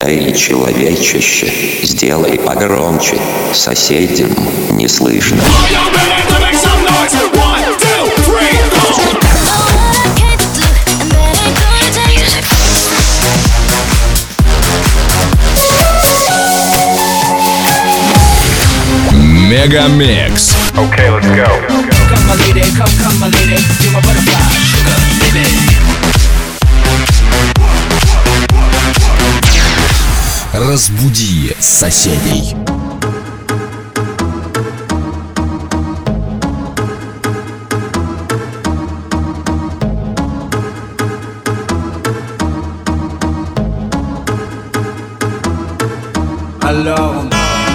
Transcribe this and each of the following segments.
Эй, человечище, сделай погромче, соседям не слышно. Мегамикс. Okay, let's go. Come my lady, come my lady, you're my butterfly, sugar, baby. Разбуди соседей. Alone.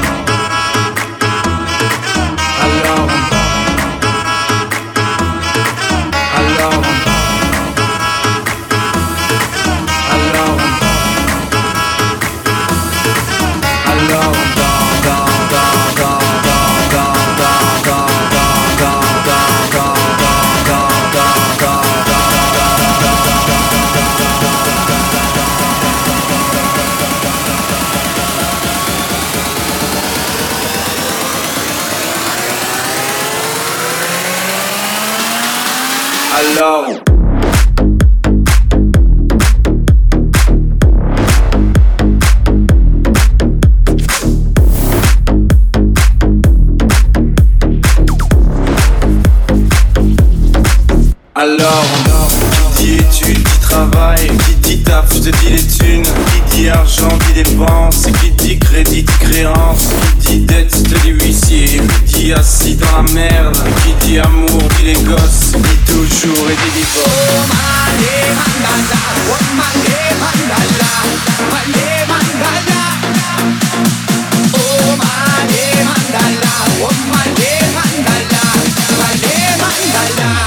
Alone. Alors, qui dit études, qui travail, qui dit taf, je te dis les thunes, qui dit argent, dit dépenses, qui dit crédit, dit créance, qui dit dette, je te dis huissier, qui dit assis dans la merde, qui dit amour, dit les gosses, dit toujours et dit divorce. Oh male mandala, oh male mandala, male mandala. Oh male mandala, oh male mandala, male mandala.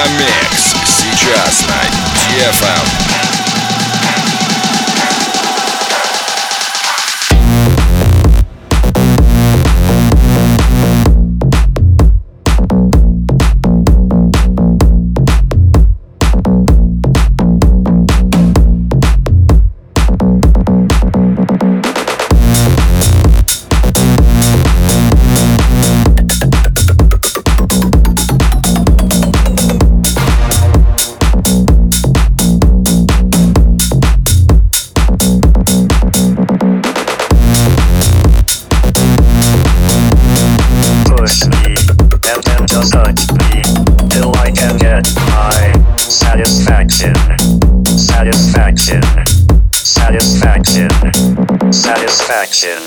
Мегамикс сейчас на DFM. Satisfaction.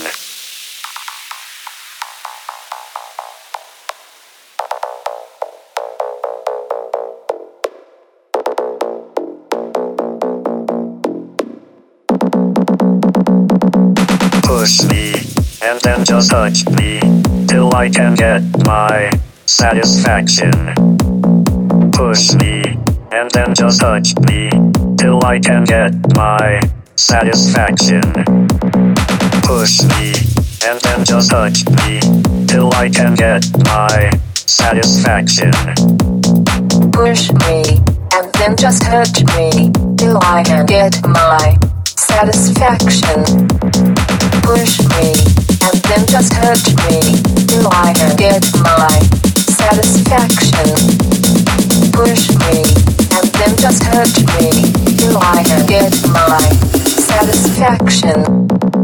Push me, and then just touch me, till I can get my satisfaction. Push me, and then just touch me, till I can get my satisfaction. Push me, and then just touch me, till I can get my satisfaction. Push me, and then just touch me, till I can get my satisfaction. Push me, and then just touch me, till I can get my satisfaction. Push me, and then just touch me, till I can get my satisfaction.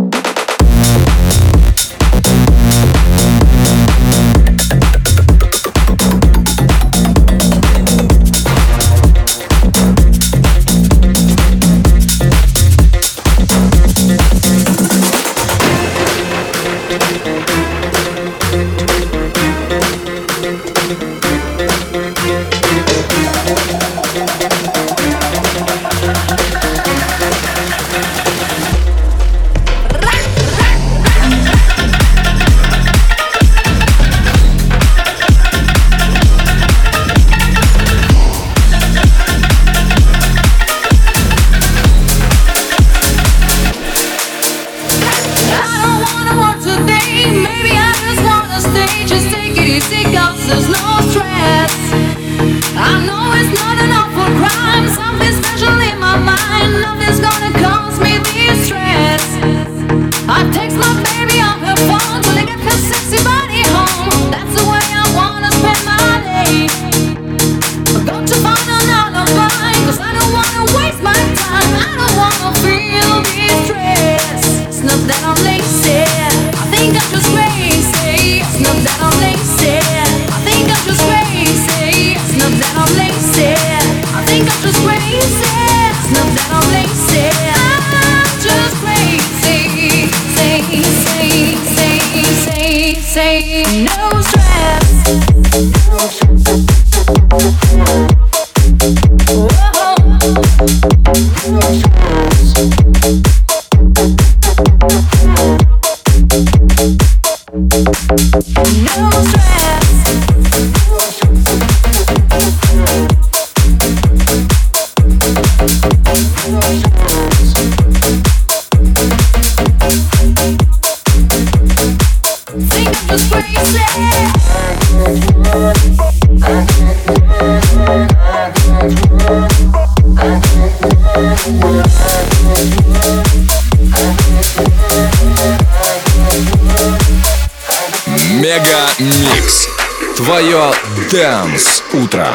Мегамикс. Твое Dance утро.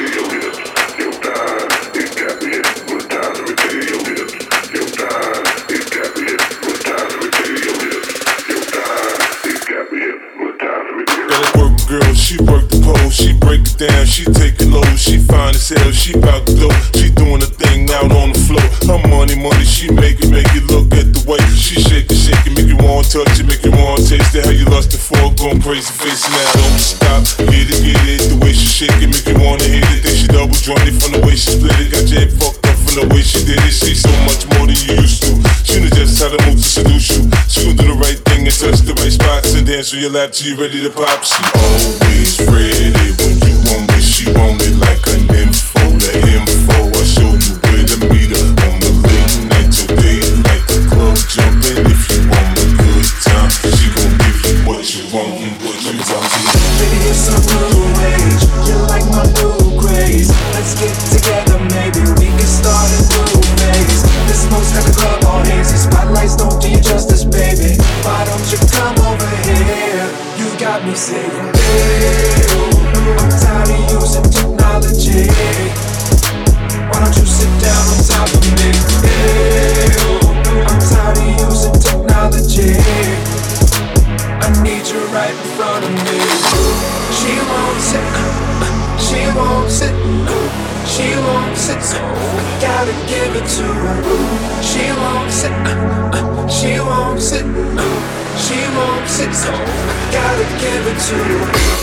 Girl, she work the pole, she break it down, she take it low, she fine as hell, she bout to go, she doing a thing out on the floor. Her money, she make it look at the way she shake it, make you want to touch it, make you want to taste it. How you lustin' for, going crazy face now, don't stop, get it, the way she shake it, make you wanna hit it. Then she double jointed from the way she split it, got your head fucked up from the way she did it. She's so much more than you used to. She knows just how to move to seduce you. She gon' do the right thing and touch the right spots and dance on your lap till you ready to pop. She always ready when you want me. she want it like an info. The info, I show you where to meet her. On the late night, your day like the club jumping. If you want a good time, she gon' give you what you want and what you want. Baby, it's a new age. You like my new craze. Let's get together, maybe we can start a new phase. This smoke's got the club all hazy. Spotlights don't do you justice, baby. Why don't you come over here? You got me saying, hey, I'm tired of using technology. Why don't you sit down on top of me? Hey, I'm tired of using technology. I need you right in front of me. She wants it, she wants it, she wants it, so I gotta give it to her. She wants it, she wants it, she wants it, so I gotta give it to her.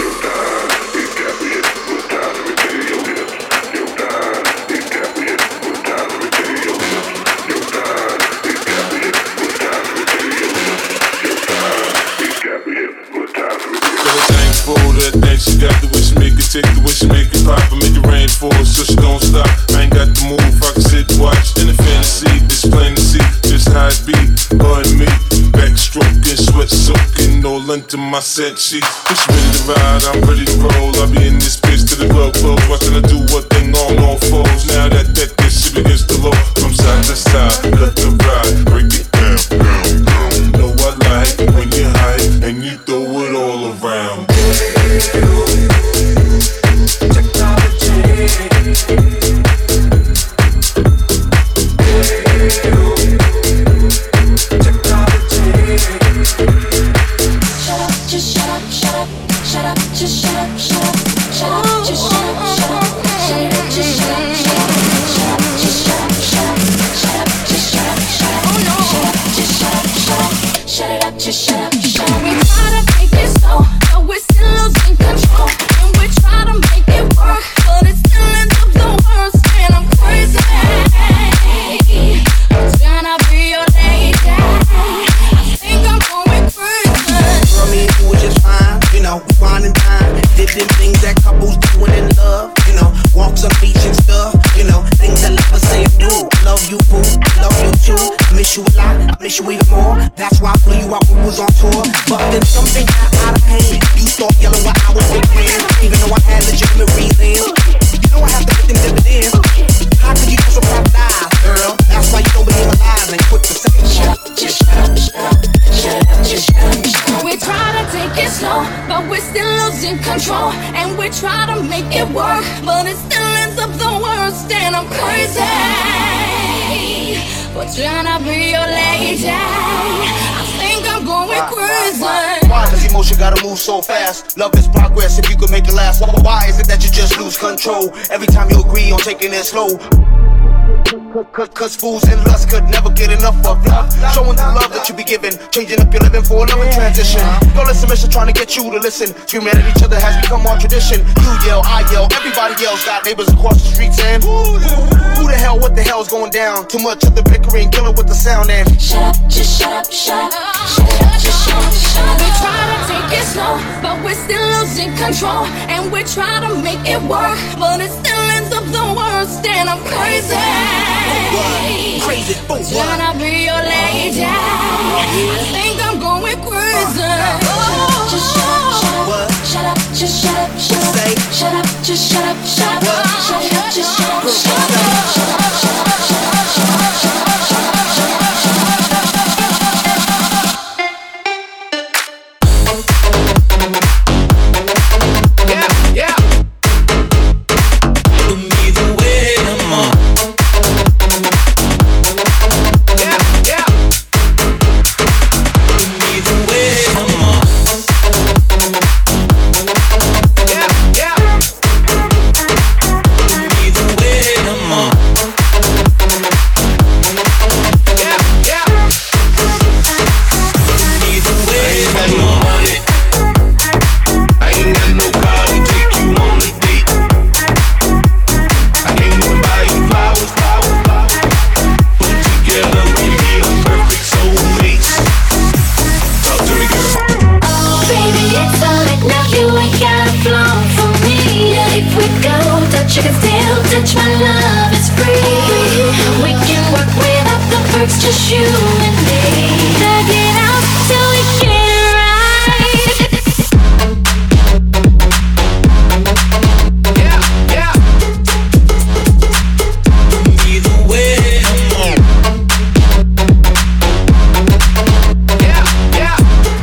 She got the way she make it, take the way she make it pop and make it rain for us, so she don't stop. I ain't got the move, I can sit and watch. In the fantasy, it's plain to see just how it be. Her and me, backstroking, sweat soaking, all into my set sheets. If she ready to ride, I'm ready to roll. I'll be in this bitch till the club close, watching her do what thing on all fours. Now that this shit begins to low, from side to side, let the ride, break it down, down, down. You know I like it when you hype and you throw it all around. Miss you even more. That's why I flew you out when we was on tour. But then something got out of hand. You start yelling while I was big man. Even though I had legitimate reasons. You know I have to put them dividends. How could you just surprise die, girl? That's why you don't believe alive and quit the second shit. Just shut up, shut up, shut up, just shut up. We try to take it slow, but we're still losing control. And we try to make it work, but it still ends up the worst. And I'm crazy for trying to be your lady. I think I'm going crazy. Why does emotion gotta move so fast? Love is progress if you could make it last. Why is it that you just lose control every time you agree on taking it slow? Cause fools and lust could never get enough of love. Showing the love that you be giving, changing up your living for another transition. Your submission trying to get you to listen. Screaming at each other has become our tradition. You yell, I yell, everybody yells. Got neighbors across the streets and who the hell, what the hell's going down? Too much of the bickering, killing with the sound and shut up, just shut up, shut up, shut up, just shut up, shut up. We try to take it slow, but we're still losing control. And we try to make it work, but it still ends up the worst. And I'm crazy. Crazy for what? Tryna be your lady. I think I'm going crazy. Just shut up, shut up, just shut up, shut up, shut up, just shut up, shut up, shut up, just shut up, shut up, shut up, shut up, shut up, shut up, shut up, shut up, shut up, shut up. way. just you and me. Drag it out till we get it right. Yeah. Either way, I'm on. Yeah.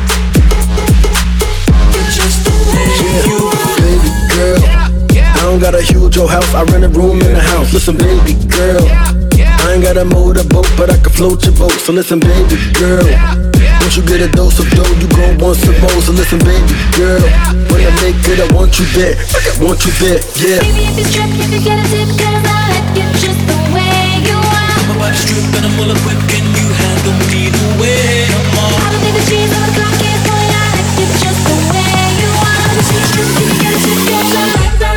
Just the way you are. Baby girl, I don't got a huge old house, I rent a room in the house. Listen, baby girl, I ain't got a motorboat, but I can float your boat. So listen, baby girl, once you get a dose of dough, you gon' want some more. So listen, baby girl, when I make it, I want you there. I want you there, yeah. Baby, if you strip, you could get a tip, 'cause I like you just the way you are. My body's stripped and I'm well equipped. Can you handle me the way I'm on? I don't think the cheese on the clock is going. I like you just the way you are. If you strip, you could get a tip, 'cause I like that.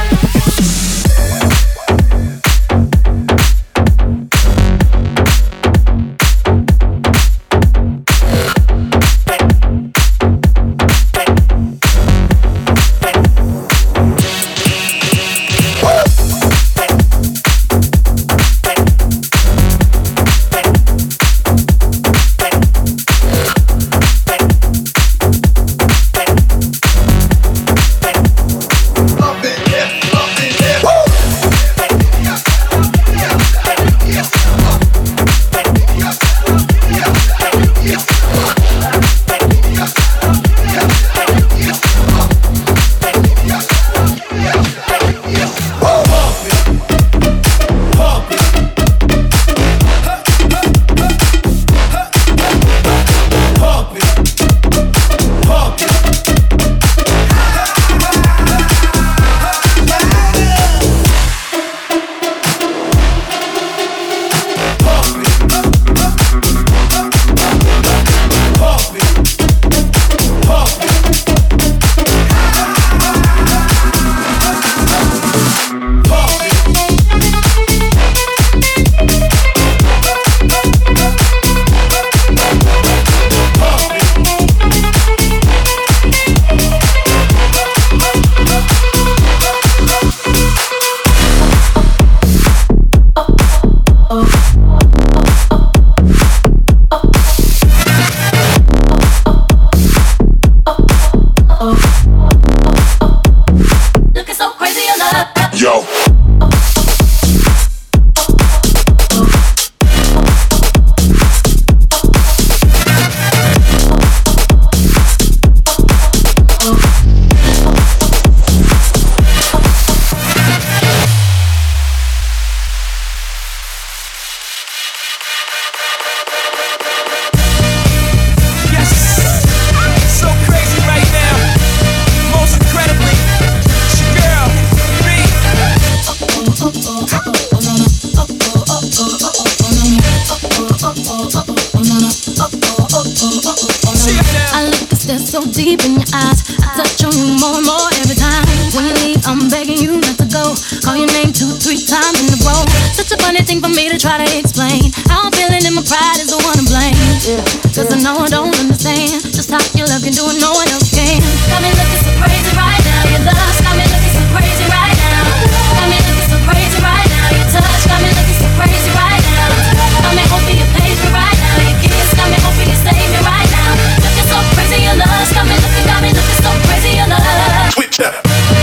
So deep in your eyes, I touch on you more and more every time. When you leave, I'm begging you not to go. Call your name 2-3 times in a row. Such a funny thing for me to try to explain. How I'm feeling and my pride is the one to blame. Cause I know I don't understand just how your love can do it, no one else can. Got me looking so crazy right now. Your lust got me looking so crazy right now. Got me looking so crazy right now. Your touch got me looking so crazy right now. Got me hoping you page me right now. Your kiss got me hoping you save me right now. Looking so crazy, your lust got me looking so crazy, your love. Switch up.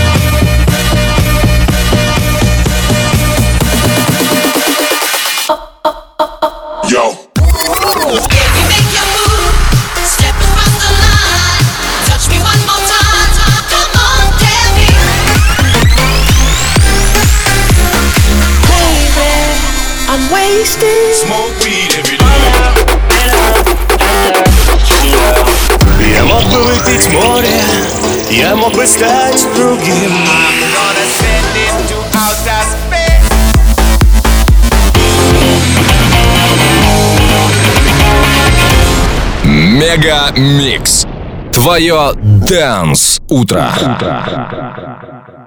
Yo. You make your move, step across the line. Touch me one more time. Come on, tell me. Baby, I'm wasted. Smoke weed every day. Я мог бы выпить море, я мог бы стать другим. I'm gonna send it to outer space. Мега Микс. Твое Dance утро.